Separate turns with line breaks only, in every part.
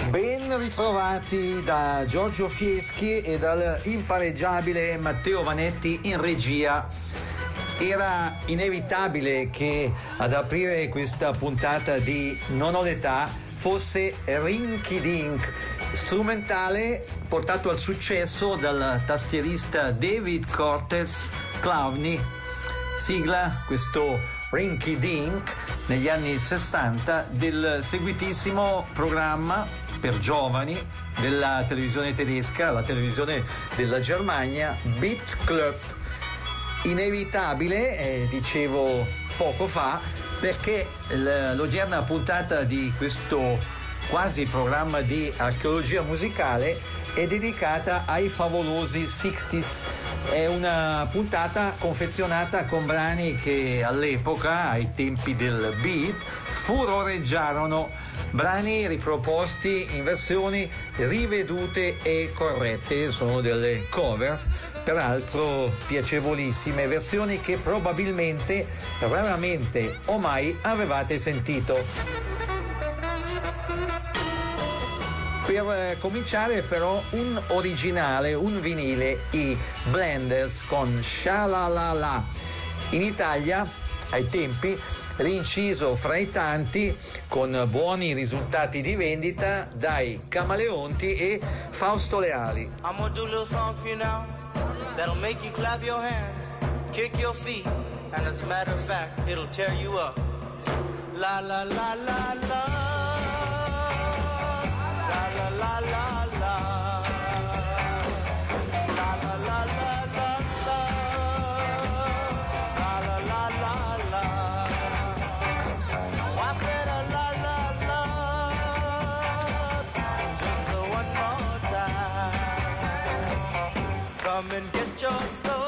Ben ritrovati da Giorgio Fieschi e dal impareggiabile Matteo Vanetti in regia. Era inevitabile che ad aprire questa puntata di Non ho l'età fosse Rinky Dink, strumentale portato al successo dal tastierista David Cortez Clowney. Sigla questo Rinky Dink negli anni 60 del seguitissimo programma per giovani della televisione tedesca, la televisione della Germania, Beat Club. Inevitabile, dicevo poco fa, perché l'odierna puntata di questo quasi programma di archeologia musicale è dedicata ai favolosi 60s. È una puntata confezionata con brani che all'epoca, ai tempi del beat, furoreggiarono, brani riproposti in versioni rivedute e corrette. Sono delle cover, peraltro piacevolissime, versioni che probabilmente, raramente o mai avevate sentito. Per cominciare però un originale, un vinile, i Blenders con Sha-la-la-la. In Italia, ai tempi, rinciso fra i tanti con buoni risultati di vendita dai Camaleonti e Fausto Leali.
I'm gonna do a little song for you now that'll make you clap your hands, kick your feet, and as a matter of fact, it'll tear you up. La la la la la. La la la la, la la la la la, la la la la la. I said a la la la, just one more time. Come and get your soul.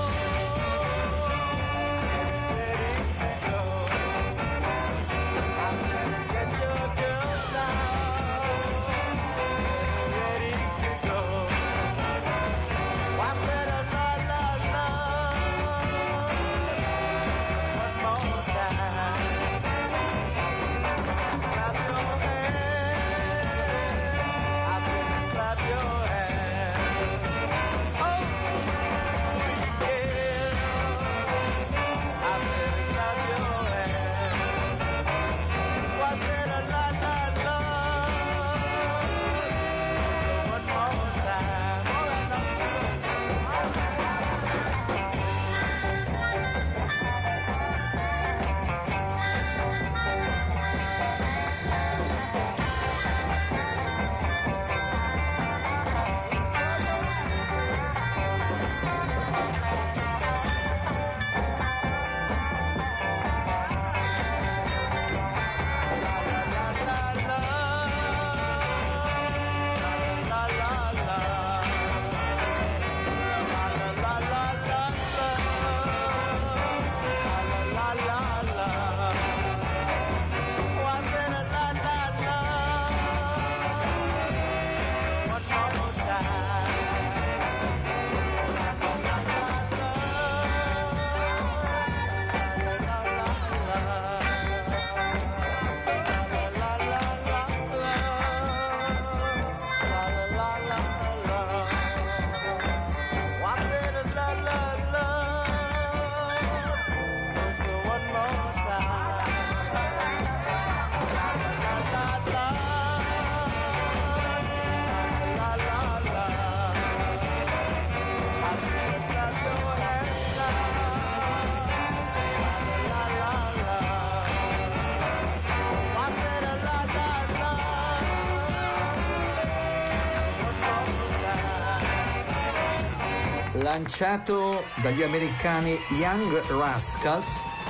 Lanciato dagli americani Young Rascals,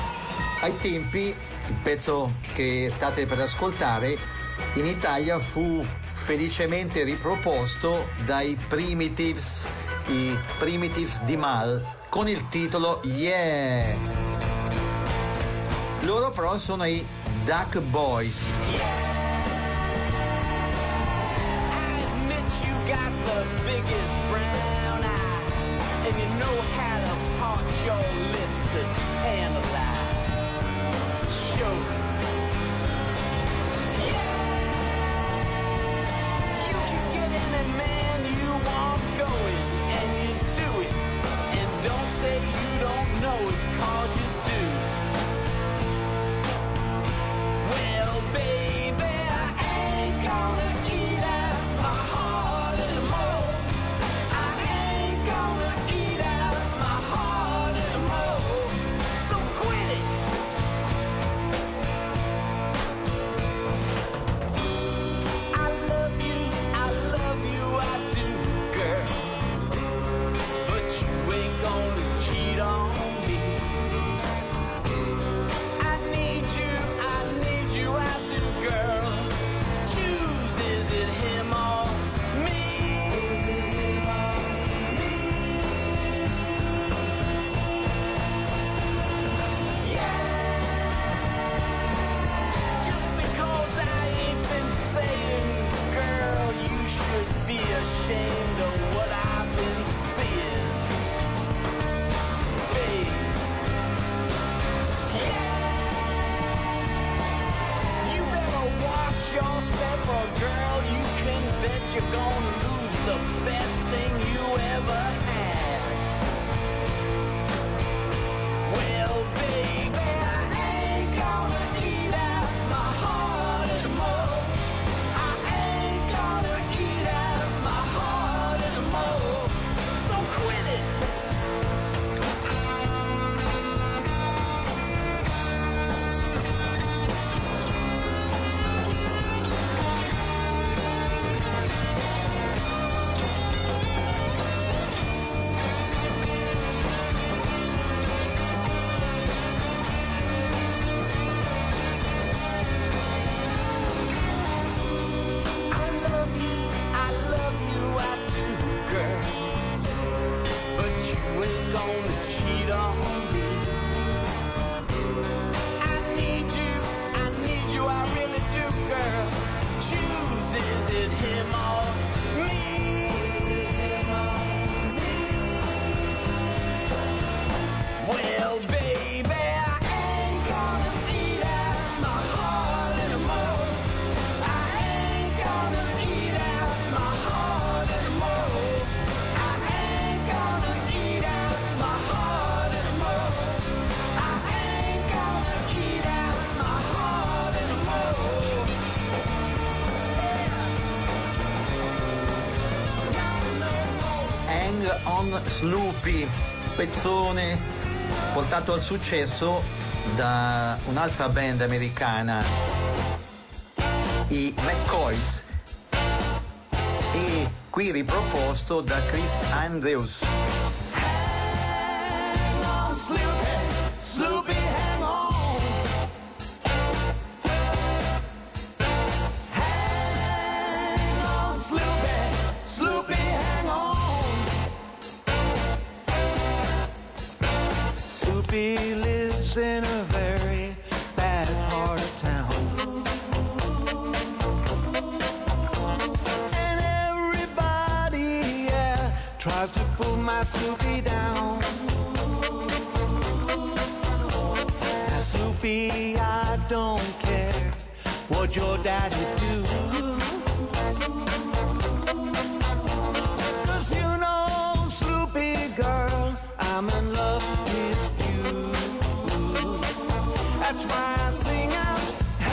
ai tempi il pezzo che state per ascoltare in Italia fu felicemente riproposto dai Primitives, i Primitives di Mal, con il titolo Yeah. Loro però sono i Duck Boys.
And you know how to punch your lips to tantalize. Show. Yeah. you're gonna lose the best thing you ever had. Well, baby, I ain't gonna eat out my heart anymore. I ain't gonna eat out my heart anymore. So quit it. Cheat on me. I need you, I really do, girl. Choose, is it him or me? Well, baby, I ain't gonna eat out my heart anymore. I ain't gonna eat out my heart anymore. I ain't gonna eat out my heart anymore. I ain't gonna eat out my heart anymore.
Hang on Sloopy, pezzone portato al successo da un'altra band americana, i McCoys, e qui riproposto da Chris Andrews.
Hang on, Sloopy, Sloopy, hang on. Hang on, Sloopy, Sloopy, hang on. Sloopy lives in a very bad part of town. And everybody, yeah, tries to pull my Sloopy down. Now, Sloopy, I don't care what your daddy do. 'Cause you know, Sloopy girl, I'm in love with you. That's why I sing out,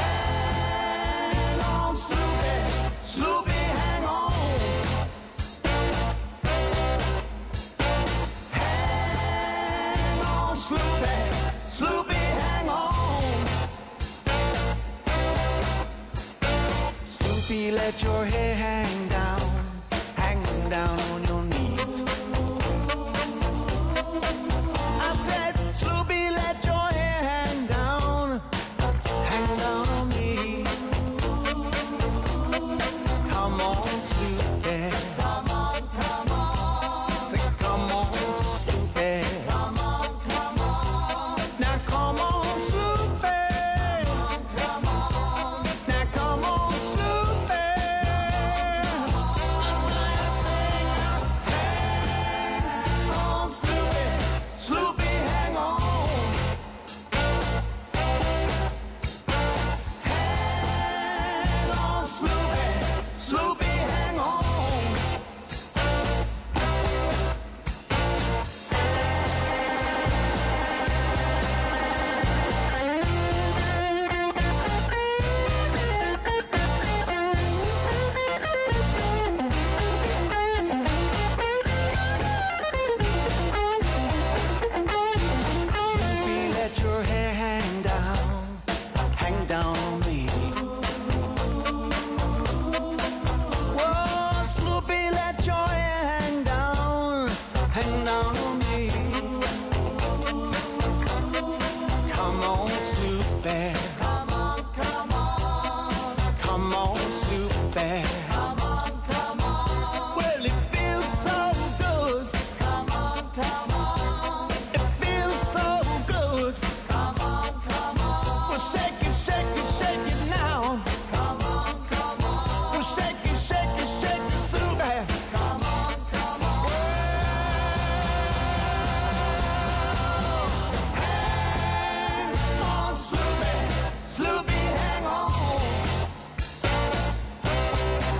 hang on, Sloopy, Sloopy, hang on. Hang on, Sloopy, Sloopy, hang on. Sloopy, let your hair hang down on your knees. I said, Sloopy, let your hair hang down on me. Come on, Sloopy. Come on, come on. Say, come on, Sloopy. Come on, come on. Now come on, Sloopy. Come on. Now come on, Sloopy. Hang on, Sloopy. Sloopy, hang on. Hang on, Sloopy. Sloopy, hang on. Sloopy, let your hair hang down on me. Whoa, Sloopy, let your hair hang down on me. Come on, Sloopy. Come on, come on. Come on, Sloopy. Come on, come on. Well, it feels so good. Come on, come on. It feels so good. Come on, come on. Well, shake it, shake it, shake it now. Come on, come on. Well, shake it, shake it, shake it, Sloopy. Come on, come on. Hang on, Sloopy. Sloopy, hang on.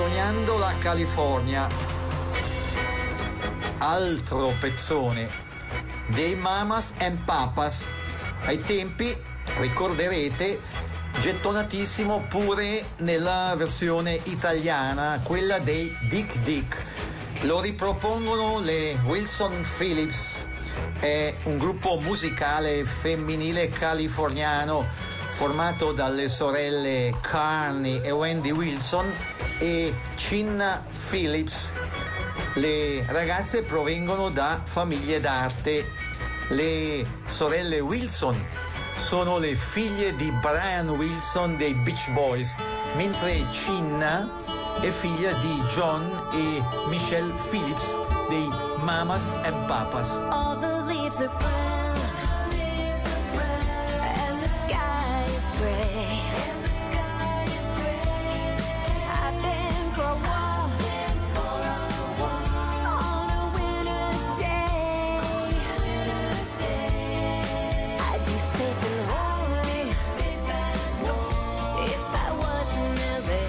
Sognando la California, altro pezzone dei Mamas and Papas, ai tempi, ricorderete, gettonatissimo pure nella versione italiana, quella dei Dick Dick. Lo ripropongono le Wilson Phillips, è un gruppo musicale femminile californiano formato dalle sorelle Carney e Wendy Wilson e Cinna Phillips. Le ragazze provengono da famiglie d'arte. Le sorelle Wilson sono le figlie di Brian Wilson dei Beach Boys, mentre Cinna è figlia di John e Michelle Phillips dei Mamas and Papas.
All the leaves are brown, and the sky is gray. I've been for a walk on a winter's day. I'd be safe and warm if I was in LA.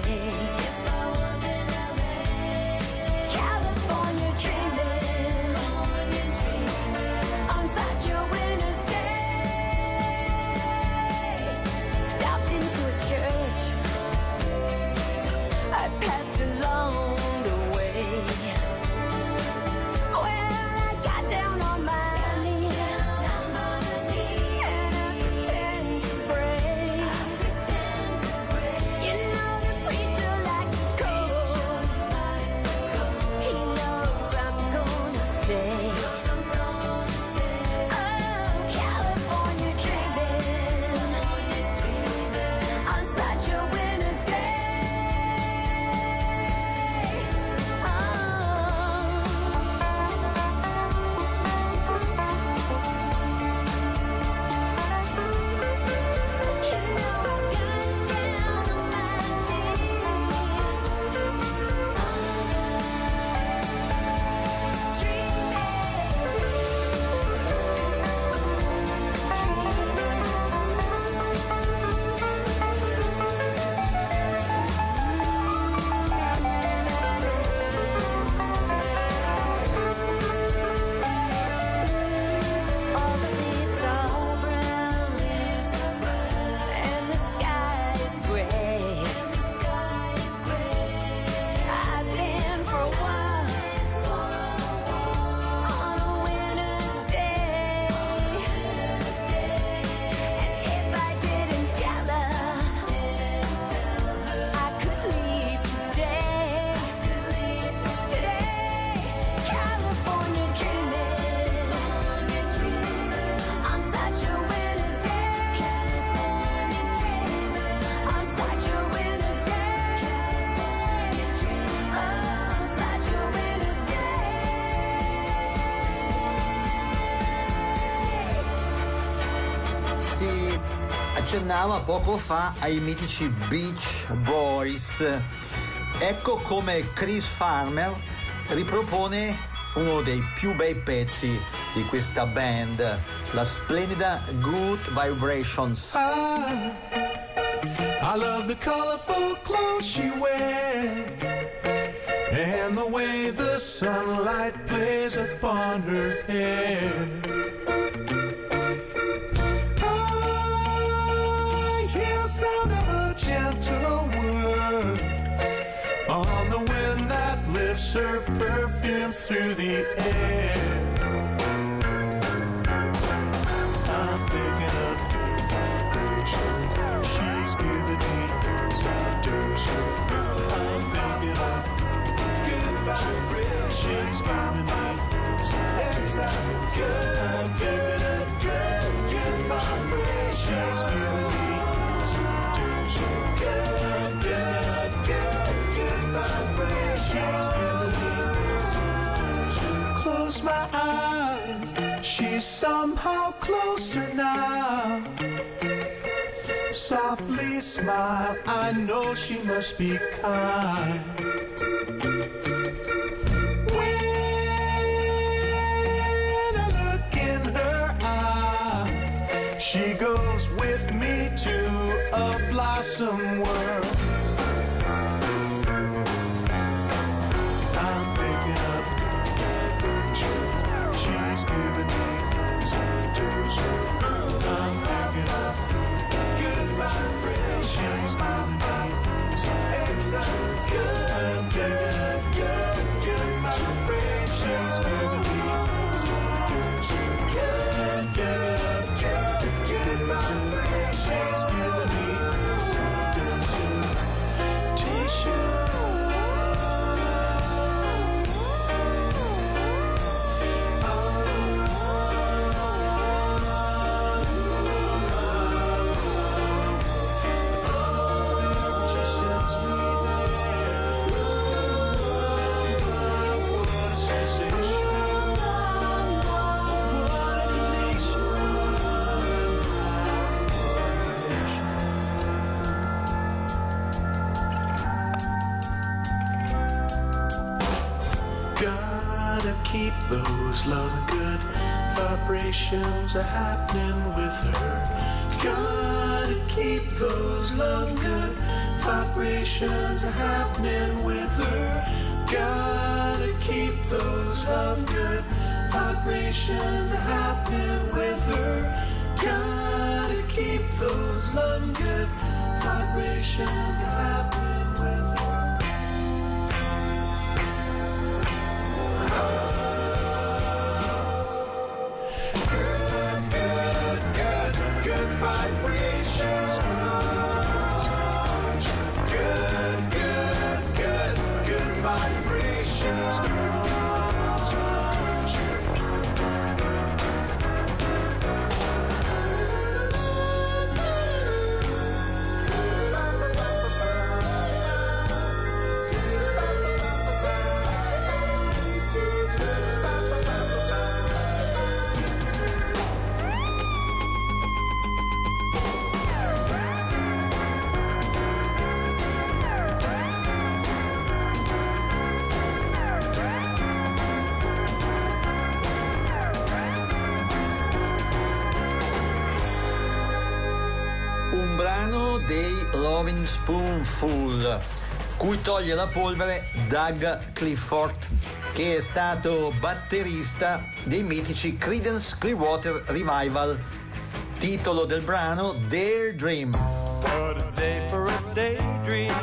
California dreaming on such a winter's day. Stopped into a church I passed along the way, where I got down on my knees and I pretend to pray. You know the preacher like cold. He knows I'm gonna stay. Oh, California dreaming on such a winter's day. You know I got down on my knees, all the leaves are brown, and the sky is gray. I've been for a while on a winter's day, and if I didn't tell her I could leave today. California dreaming on such a winter's day. On such a winter's day. On such a winter's day.
Si accennava poco fa ai mitici Beach Boys. Ecco come Chris Farmer ripropone uno dei più bei pezzi di questa band, la splendida Good Vibrations.
I love the colorful clothes she wears and the way the sunlight plays upon her hair. I hear the sound of a gentle word on the wind that lifts her perfume through the air. I'm picking up good vibrations. She's giving me excitation. I'm picking up good vibrations. She's giving me excitation. I'm picking up good vibrations. She's giving me excitation. I'm picking up good vibrations. She's giving me excitation. Close my eyes. She's somehow closer now. Softly smile, I know she must be kind. When I look in her eyes, she goes with me to a blossom world.
Gotta keep those love good vibrations are happening with her. Gotta keep those love good vibrations are happening with her. Gotta keep those love good vibrations are happening with her. Gotta keep those love good vibrations are happening with her. Good vibrations. Good vibrations.
Un brano dei Lovin' Spoonful, cui toglie la polvere Doug Clifford, che è stato batterista dei mitici Creedence Clearwater Revival. Titolo del brano Daydream.
What a day for a daydream.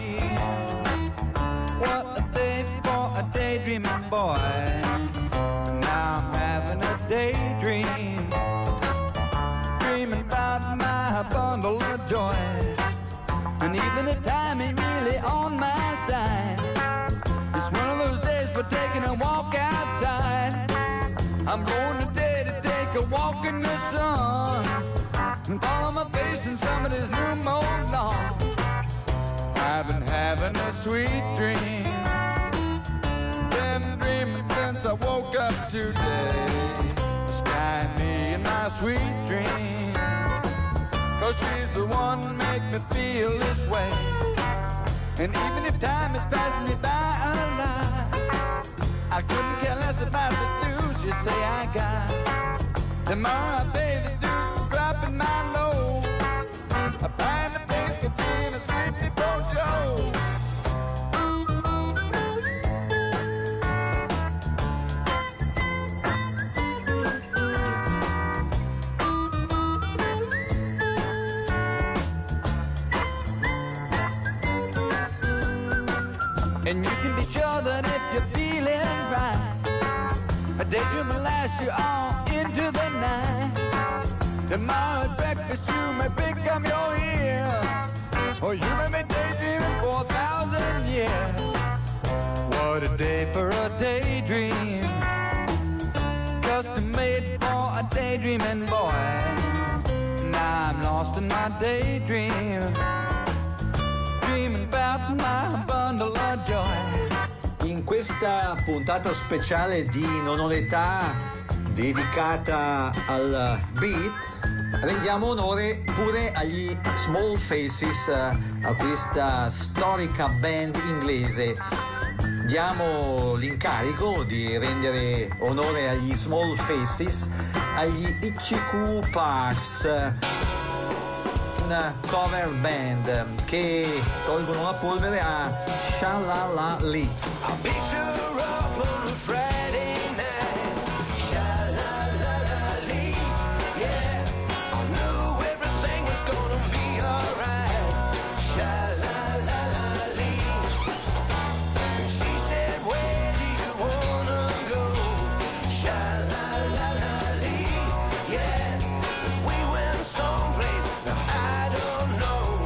What a day for a daydreaming boy. Now I'm having a daydream. Dreaming about my bundle of joy. And even the time ain't really on my side. It's one of those days for taking a walk outside. I'm going today to take a walk in the sun and follow my face in somebody's new mowed lawn. I've been having a sweet dream. Been dreaming since I woke up today. The sky and me in my sweet dream. 'Cause she's the one who make me feel this way. And even if time is passing me by a lot, I couldn't care less about the dues you say I got. The more I pay the dues for dropping my load, I find the face of being a sleepy Joe. And you can be sure that if you're feeling right, a daydream will last you all into the night. Tomorrow at breakfast you may pick up your ear, or you may be daydreaming for 1,000 years. What a day for a daydream, custom made for a daydreaming boy. Now I'm lost in my daydream, dreaming about my bundle of joy.
In questa puntata speciale di Non ho l'età, dedicata al beat, rendiamo onore pure agli Small Faces, a questa storica band inglese. Diamo l'incarico di rendere onore agli Small Faces agli Itchy Parks, una cover band che tolgono la polvere a Sha-La-La Lee.
I'll pick her up on a Friday night. Sha-la-la-la-lee, yeah. I knew everything was gonna be alright. Sha-la-la-la-lee. She said, where do you wanna go? Sha-la-la-la-lee, yeah. 'Cause we went someplace, now I don't know.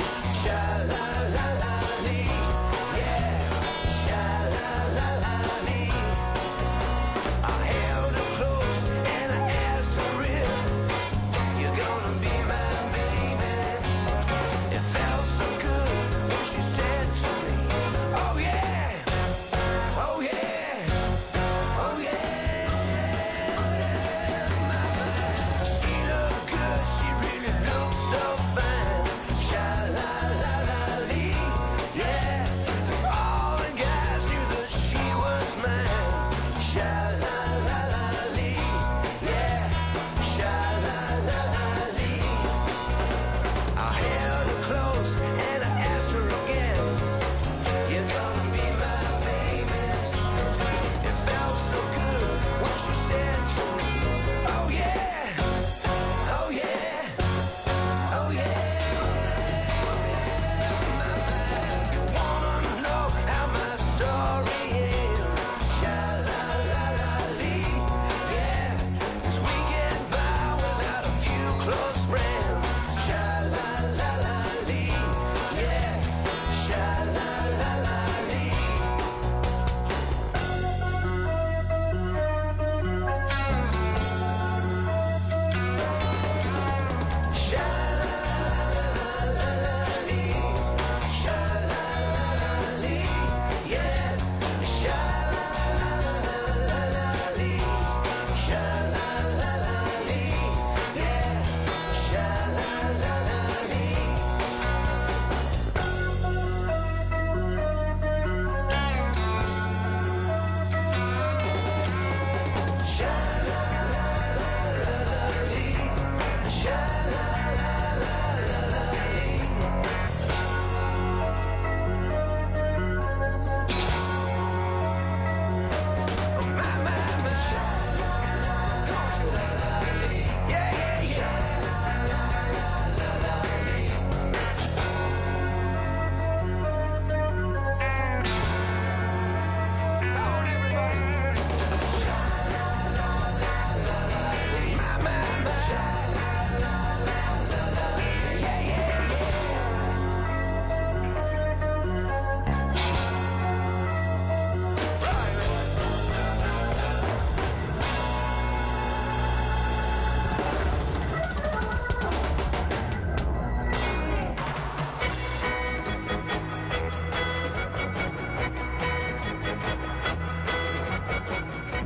Sha-la-la-la-lee, yeah. Sha-la-la-la-lee.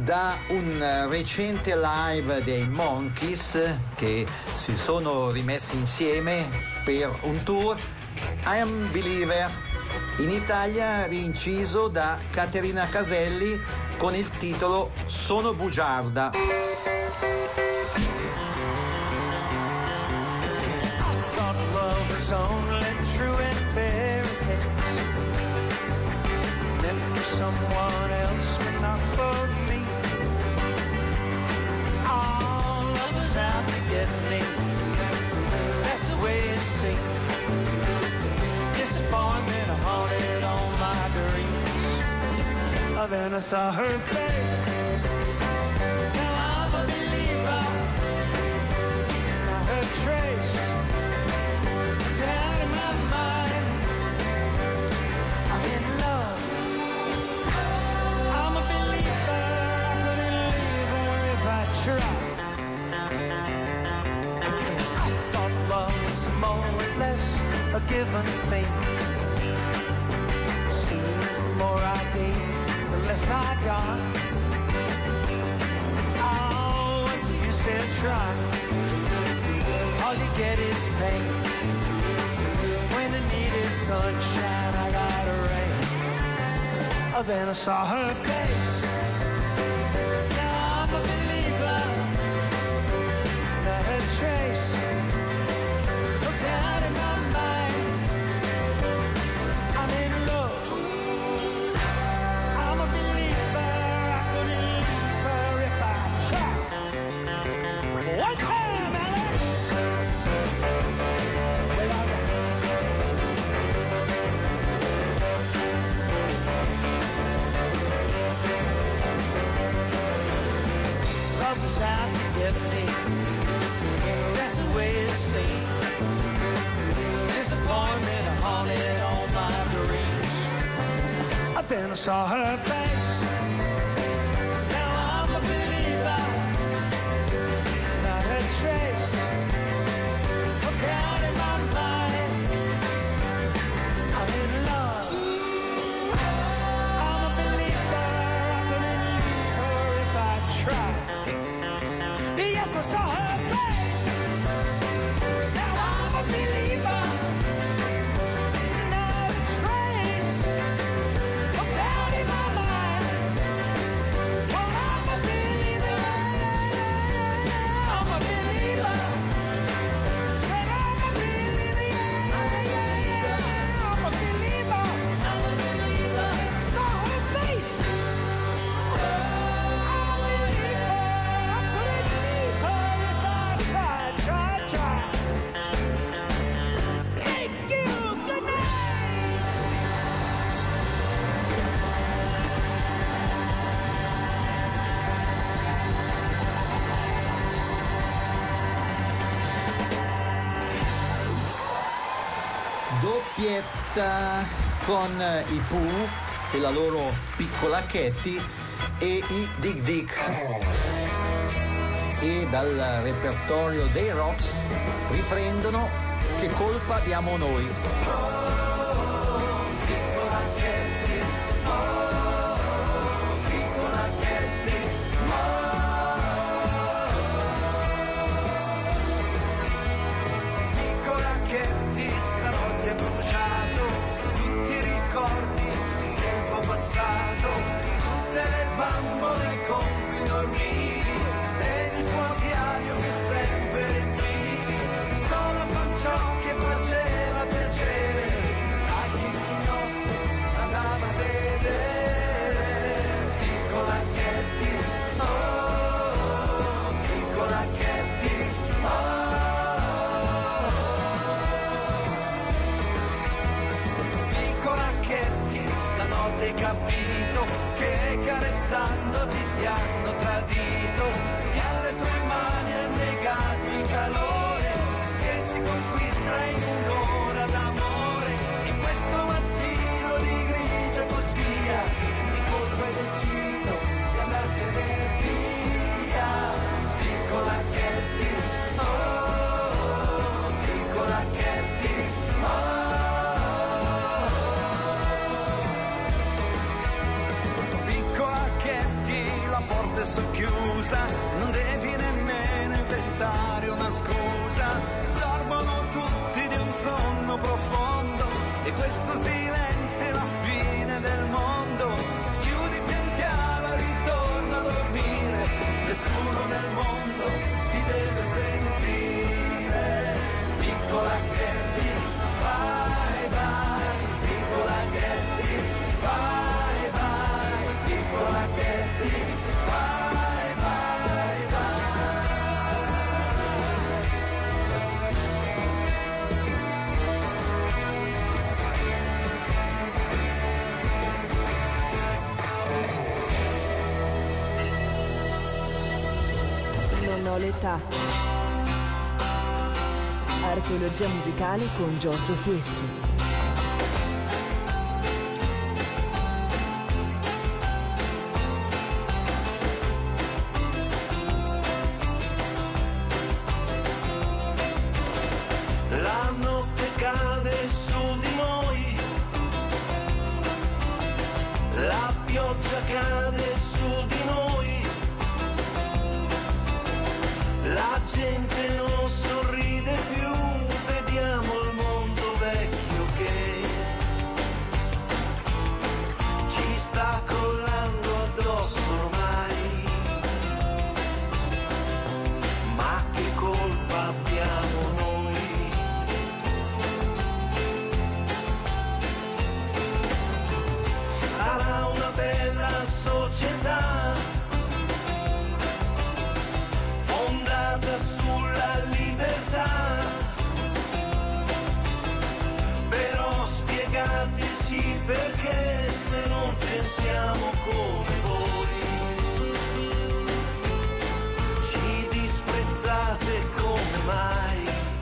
da un recente live dei Monkees che si sono rimessi insieme per un tour, I Am Believer, in Italia rinciso da Caterina Caselli con il titolo Sono bugiarda.
Only true and fairy tales, meant for someone else but not for me. All of us out to get me, that's the way it seems. Disappointment haunted all my dreams. Then I saw her face, now I'm a believer. Not her trace, out of my mind. I'm in love, I'm a believer. I couldn't leave her if I tried. I thought love was more or less a given thing. Seems the more I gave, the less I got. Oh, once you said try, all you get is pain. When I needed sunshine, I got rain. Oh, then I saw her face. Now I'm a believer. Not a trace looked out in my mind. I'm in love, I'm a believer. I couldn't leave her if I tried. One time, Alex. Love was out to get me, that's the way it seemed. Disappointment haunted all my dreams. But then I saw her face. Now I'm a believer. Not a trace looked out in my mind. I'm in love, I'm a believer. I couldn't leave her if I tried. Yes, I saw her face. Now I'm a believer. Not a trace looked out in my mind. Well, I'm a believer. I'm a believer. Said I'm a believer. I'm a believer. I'm a believer. Saw her face. I'm a believer. I couldn't leave her if I tried. Thank you. Good night.
Doppietta con i Pooh e la loro Piccola Katy e i Dig Dig, che dal repertorio dei Rocks riprendono Che colpa abbiamo noi.
Piccola Katy, stanotte ha bruciato tutti i ricordi del tuo passato, tutte le bambole con cui dormivi ed il tuo diario che sempre riempivi, solo con ciò che faceva piacere a chi di notte andava a vedere. Piccola Katy, oh, piccola Katy, piccola Katy, stanotte hai capito che carezzandoti ti hanno tradito, che alle tue mani hai negato il calore che si conquista in un'ora d'amore. In questo mattino di grigia foschia, di colpo hai deciso di andartene via. Piccola Katy, oh, piccola Katy, Piccola Katy, la porta è socchiusa, non devi nemmeno inventare una scusa, dormono tutti di un sonno profondo e questo silenzio è la fine del mondo. Chiudi pian piano, ritorna a dormire, nessuno nel mondo ti deve sentire. Piccola Katy, bye bye, piccola Katy, bye bye, piccola Katy, bye bye bye.
Non ho l'età. Archeologia musicale con Giorgio Fieschi.
La notte cade su di noi, la pioggia cade su di noi, la gente non sorride più, vediamo il mondo vecchio che ci sta collando addosso ormai. Ma che colpa abbiamo noi? Sarà una bella società fondata sulla libertà, però spiegateci perché se non pensiamo come voi ci disprezzate come mai.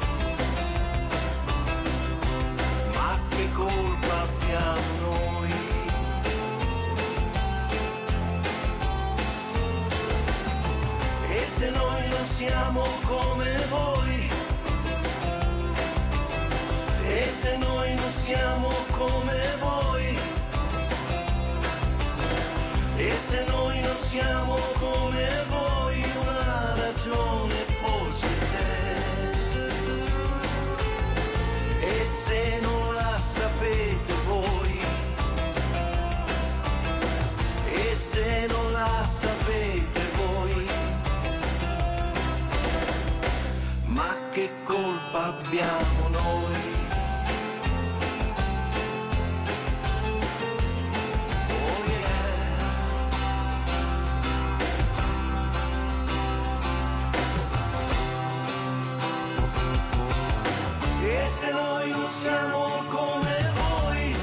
Ma che colpa abbiamo noi? E se noi non siamo come voi? E se noi non siamo come voi? E se noi non siamo come voi? Una ragione forse c'è. E se non la sapete voi? E se non la sapete voi? Ma che colpa abbiamo noi? Oh yeah. E se noi non siamo come voi?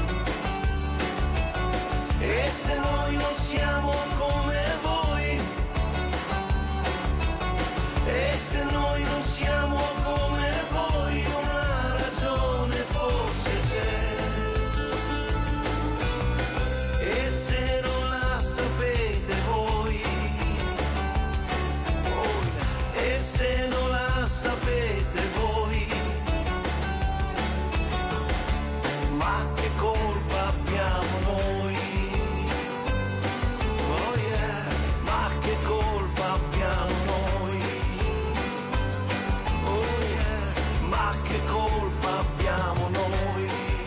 E se noi non siamo come voi? E se noi non siamo come voi? Una ragione forse c'è. E se non la sapete voi? Oh, e se non la sapete voi? Ma che colpa abbiamo noi? Oh yeah, ma che colpa abbiamo noi? Oh yeah, ma che colpa abbiamo noi?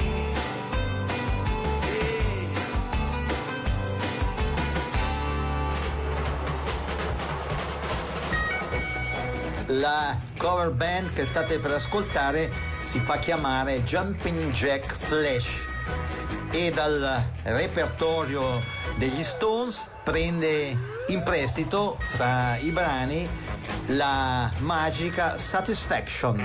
La cover band che state per ascoltare si fa chiamare Jumping Jack Flash e dal repertorio degli Stones prende in prestito fra i brani la magica Satisfaction.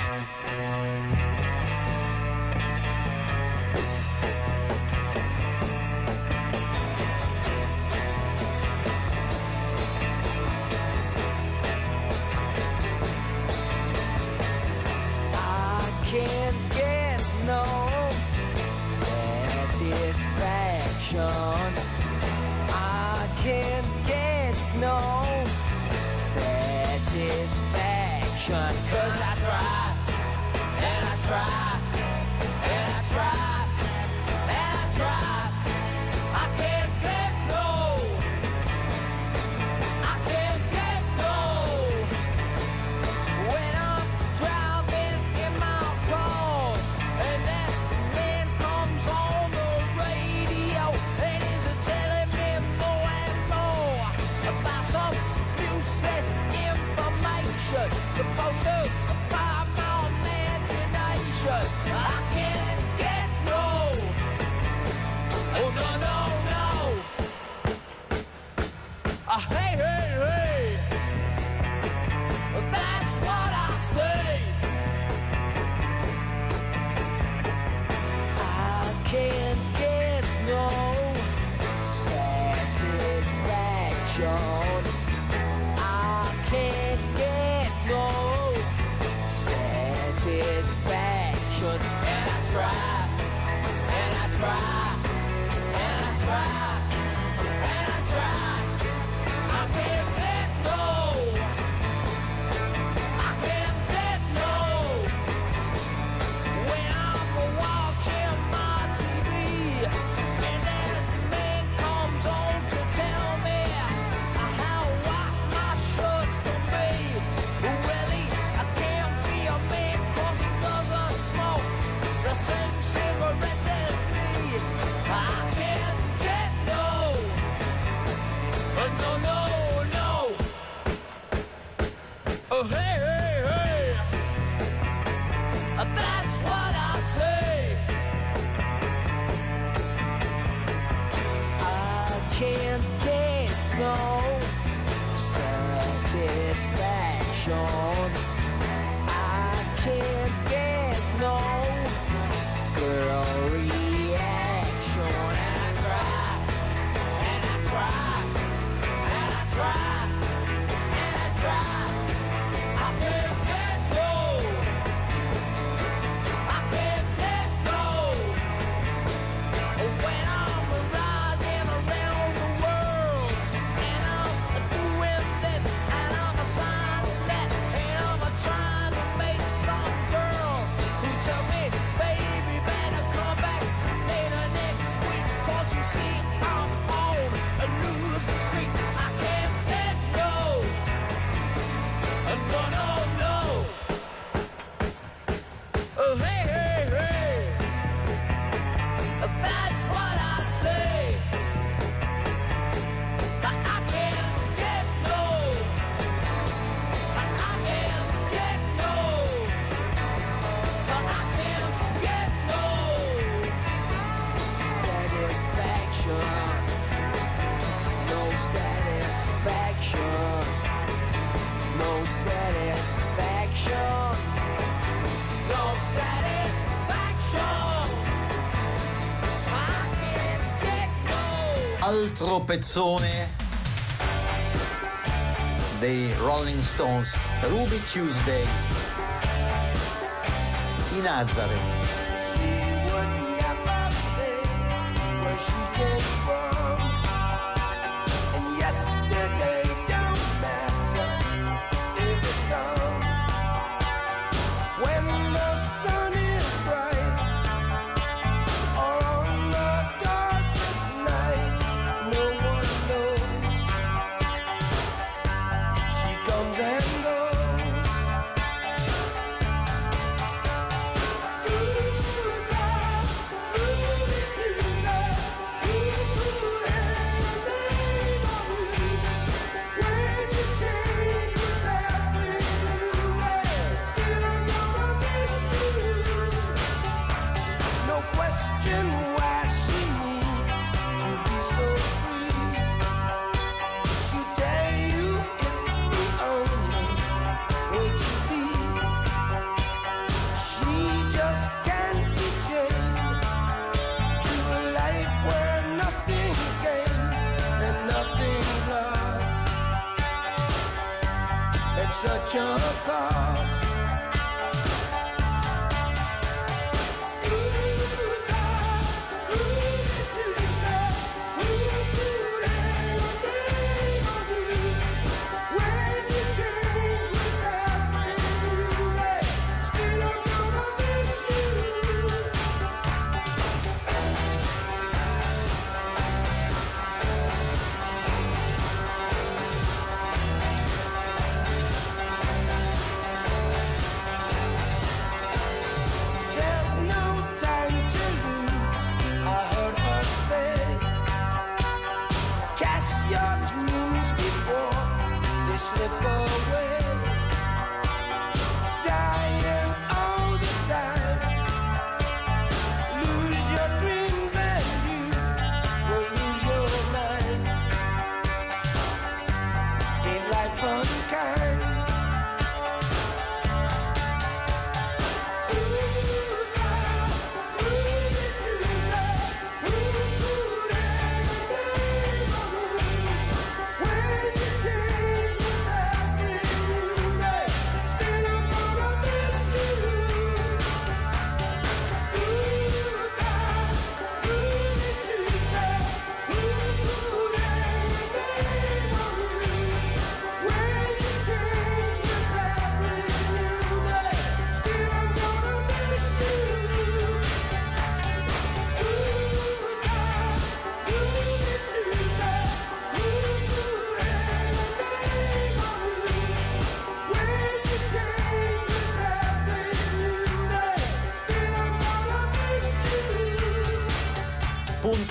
I can't get no satisfaction. I can't get no satisfaction. 'Cause I try and I try and I try and I try. I can't get no. I supposed to apply my imagination. I can't get no. Oh no no no. Hey hey hey. That's what I say. I can't get no satisfaction. I can't get no satisfaction. And I try, and I try, and I try, and I try. I can't get no. I can't get no. When I'm watching my TV and that man comes on to tell me how white my shirts can be. Really, I can't be a man 'cause he doesn't smoke the same cigarettes as me. I can't get no. No, no, no. Oh, hey, hey, hey. That's what I say. I can't get no satisfaction. I can't get no girl reaction. And I try, and I try, and I try, and I try. I can't get no. I can't get no. When I'm riding around the world and I'm doing this and I'm signing that and I'm trying to make some girl who tells me, baby, better come back later next week 'cause you see I'm on a losing streak. I can't get no. No, no, no. Oh, hey, hey, hey. That's what I say. I can't get no. I can't get no. I can't get no satisfaction. No satisfaction. No satisfaction. No satisfaction. I can't get no.
Altro pezzone dei Rolling Stones, Ruby Tuesday, i Nazareth.
She would never say where she came from, and yesterday don't matter if it's gone. When the sun is bright or on the darkest night, no one knows. She comes and goes. No question why she needs to be so free. She'll tell you it's the only way to be. She just can't be chained to a life where nothing's gained and nothing's lost at such a cost. slip away.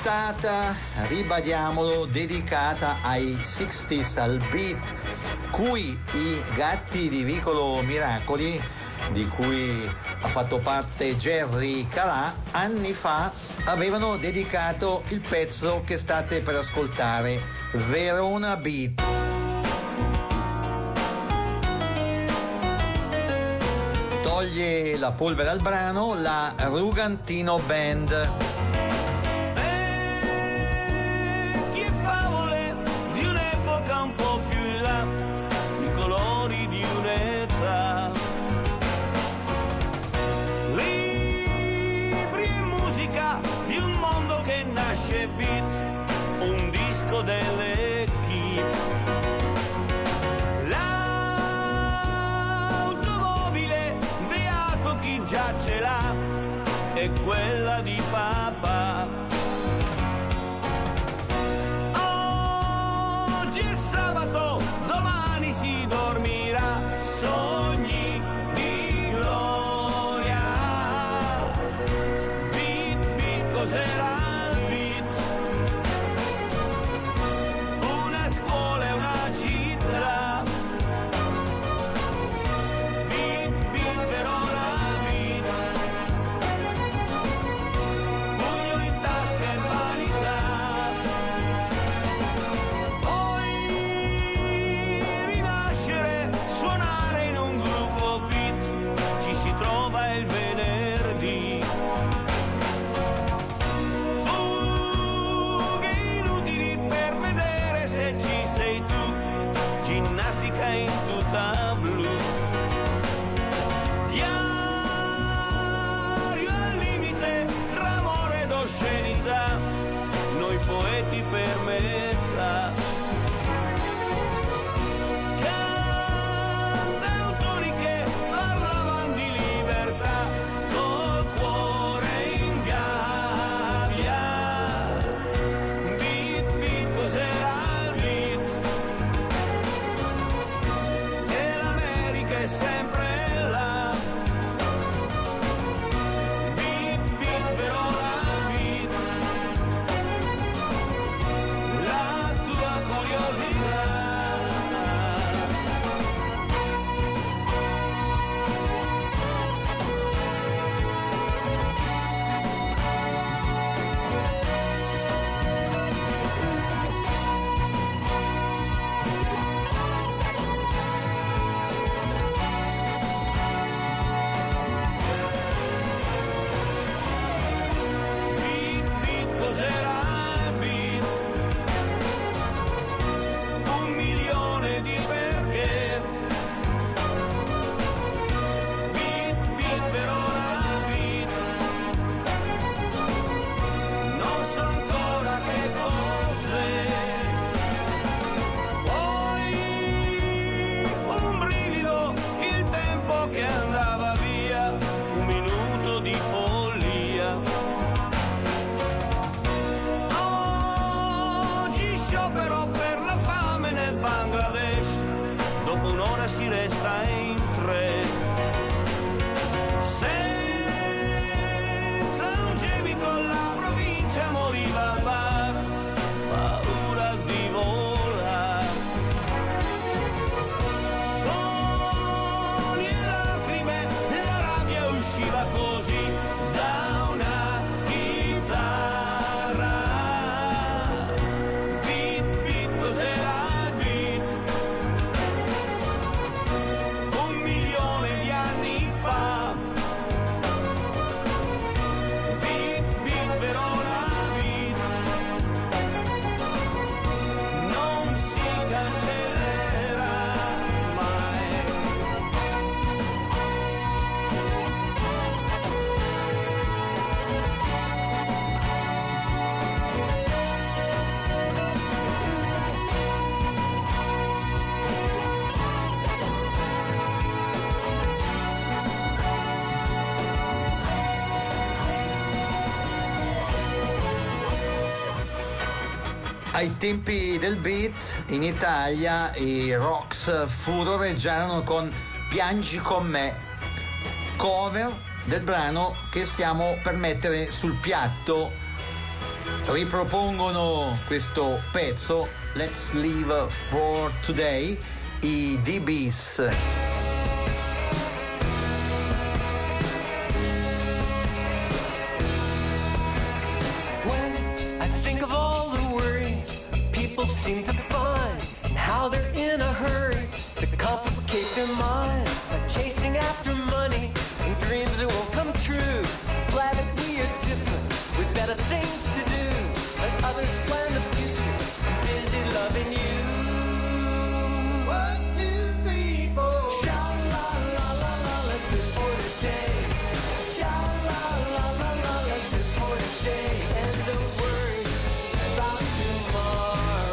puntata, ribadiamolo, dedicata ai 60s, al beat, cui i Gatti di Vicolo Miracoli, di cui ha fatto parte Jerry Calà, anni fa avevano dedicato il pezzo che state per ascoltare, Verona Beat. Toglie la polvere al brano la Rugantino Band.
Che favole di un'epoca un po' più in là, i colori di un'età, libri e musica di un mondo che nasce beat, un disco delle equip. Chi già ce l'ha è quella di papà. Oggi è sabato, domani si dormirà, sogni di gloria. Beat, beat, cos'era il beat? Una scuola e una città. Beat, beat, Verona. In tutta blu, diario al limite tra amore ed oscenità, noi poeti per metà, cantautori che parlavano di libertà, col cuore in gabbia. Beat, beat, cos'era? È sempre là. Beat, beat, Verona beat, la tua curiosità. Che andava via, un minuto di follia. Oggi sciopero per la fame nel Bangladesh, dopo un'ora si resta in tre, senza un gemito la provincia moriva al bar, paura di volare. Usciva così da una chitarra. Beat, beat, cos'era il beat? 1 milione di anni fa. Beat, beat, Verona beat, non si cancellerà mai.
Ai tempi del beat in Italia i Rocks furoreggiarono con Piangi con me, cover del brano che stiamo per mettere sul piatto ripropongono questo pezzo Let's Live for Today, i DBs.
Seem to find and how they're in a hurry to complicate their minds by chasing after money and dreams that won't come true. Glad that we are different with better things to do. Let others plan the future. I'm busy loving you. 1, 2, 3, 4. Sha la la la la, let's live for today. Sha la la la la, let's live for today. And don't worry about tomorrow.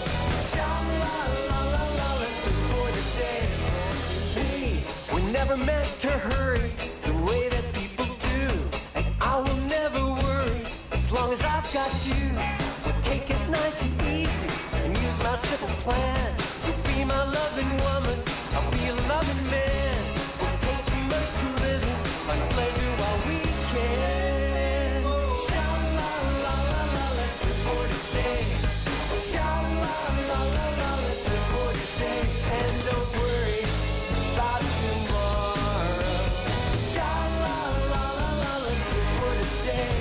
Never meant to hurry the way that people do, and I will never worry as long as I've got you. We'll take it nice and easy and use my simple plan. You'll be my loving woman, I'll be a loving man. We'll take turns to living, find pleasure while we can. Sha la la la la, let's live for today. Sha la la la la, let's live for today. And don't worry about tomorrow. Sha la la la la, let's live for today.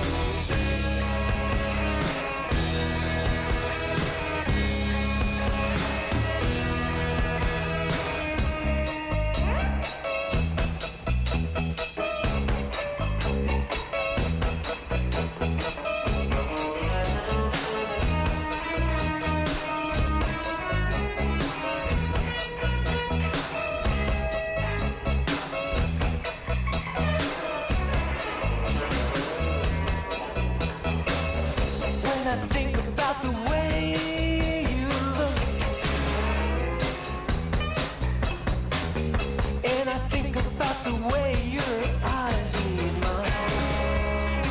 When I think about the way you look, and I think about the way your eyes meet mine,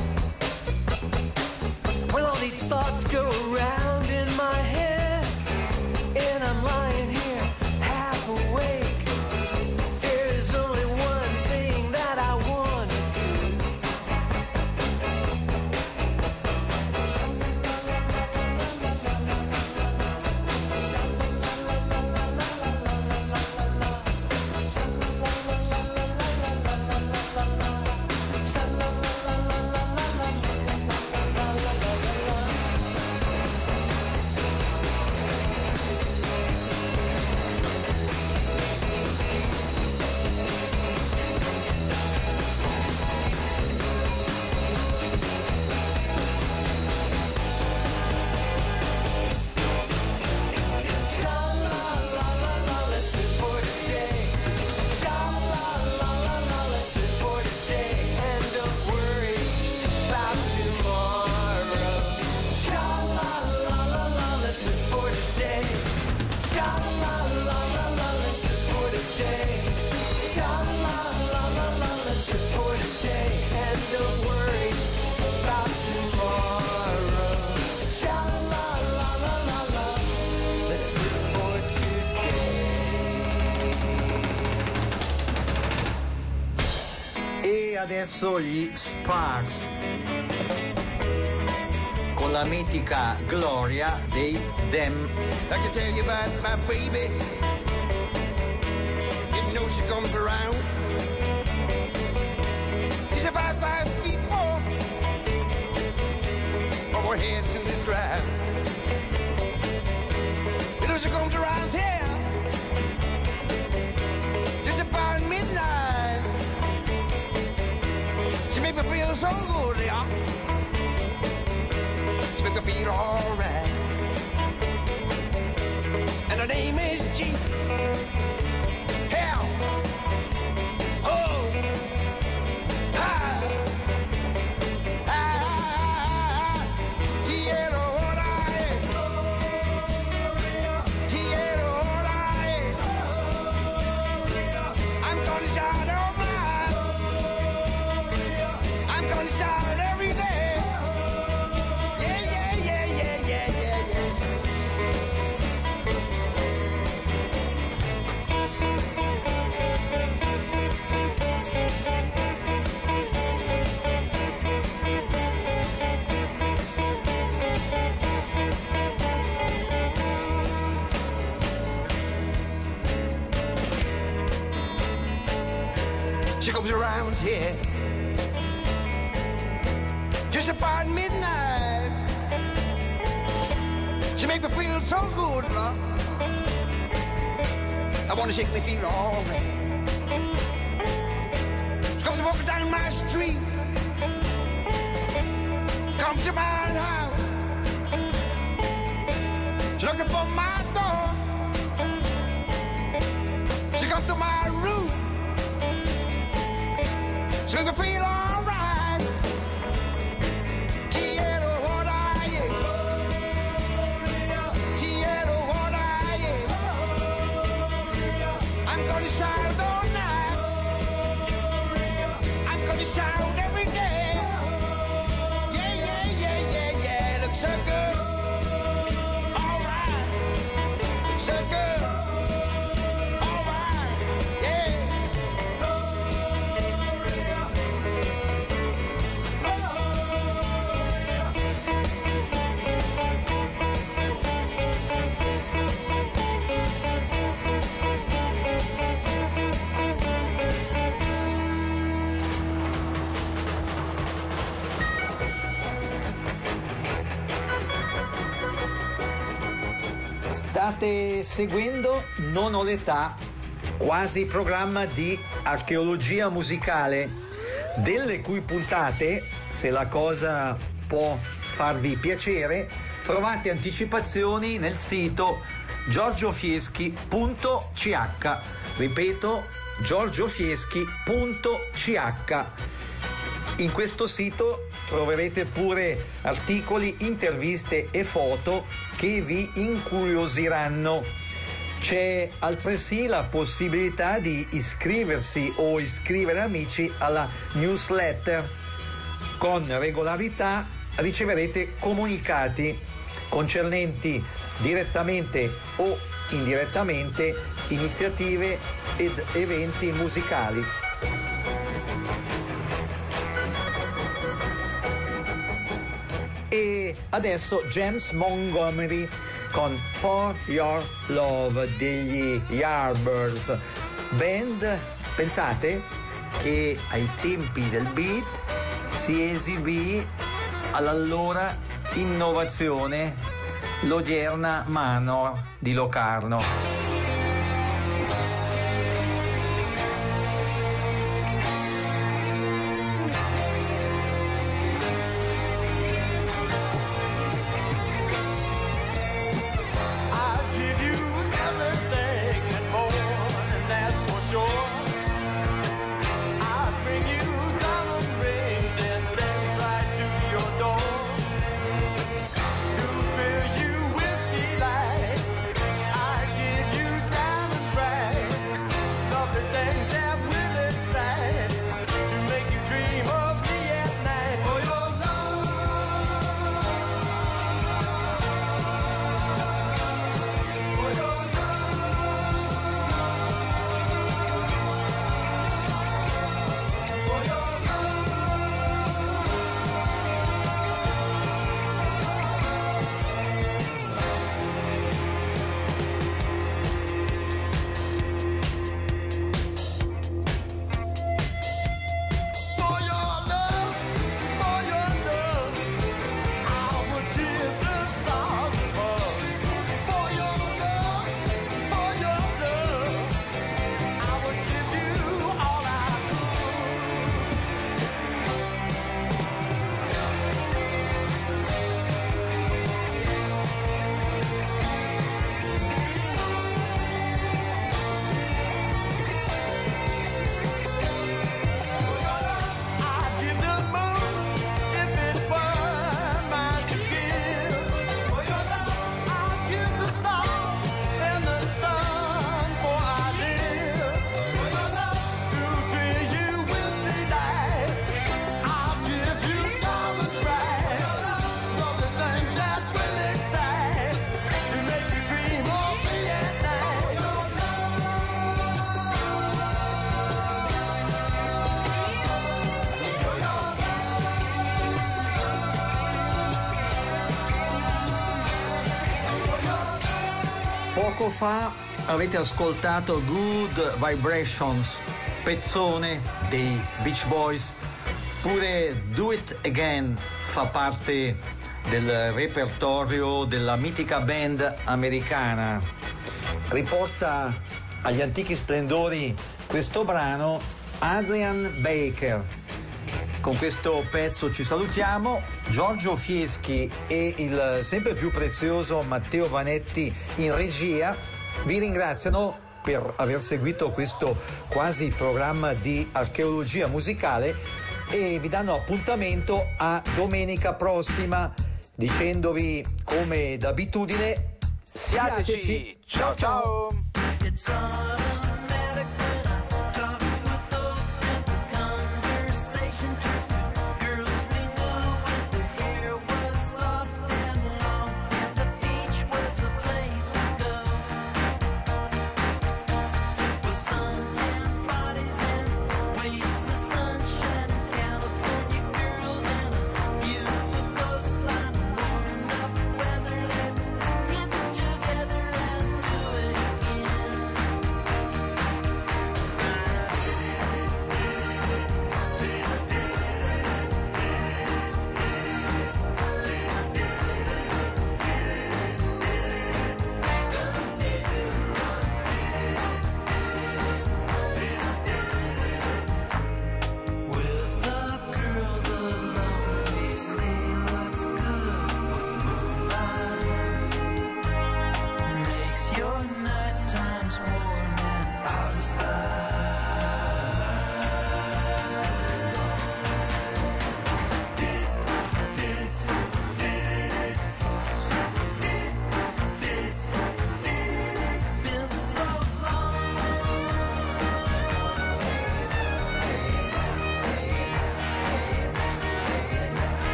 when all these thoughts go around in my head, and I'm lying here half awake, there's only one thing that I want to do.
E adesso gli Sparks con la mitica Gloria dei Them.
I can tell you about my baby. You know she comes around. She's about 5'4", from her head to the ground. You know she comes around here just about midnight. She make me feel so good, yeah. She make me feel alright. And her name is G. Hell. Oh. Ah. Ah. G-L-O-R-I. G-L-O-R-I. I'm gonna shout all night. I'm gonna shout every day. Yeah, yeah, yeah, yeah, yeah. She comes around here just about midnight. She make me feel so good, love. I wanna shake me feel alright. She comes walking down my street, comes to my house. She looked up on my door. She comes to my room. She make me feel alright. Tiero, what are you? Tiero, what are you? I'm gonna shout all night. I'm gonna shout every day. Yeah, yeah, yeah, yeah, yeah. Looks so good. Alright. So good. Alright. Yeah.
State seguendo Non ho l'età, quasi programma di archeologia musicale, delle cui puntate, se la cosa può farvi piacere, trovate anticipazioni nel sito giorgiofieschi.ch. Ripeto, giorgiofieschi.ch. In questo sito troverete pure articoli, interviste e foto che vi incuriosiranno. C'è altresì la possibilità di iscriversi o iscrivere amici alla newsletter. Con regolarità riceverete comunicati concernenti direttamente o indirettamente iniziative ed eventi musicali. E adesso James Montgomery con For Your Love degli Yardbirds, band, pensate, che ai tempi del beat si esibì all'allora innovazione, l'odierna Manor di Locarno. Poco fa avete ascoltato Good Vibrations pezzone dei Beach Boys. Pure Do It Again fa parte del repertorio della mitica band americana. Riporta agli antichi splendori questo brano Adrian Baker. Con questo pezzo ci salutiamo. Giorgio Fieschi e il sempre più prezioso Matteo Vanetti in regia vi ringraziano per aver seguito questo quasi programma di archeologia musicale e vi danno appuntamento a domenica prossima dicendovi come d'abitudine siateci.
Ciao ciao.
It's on.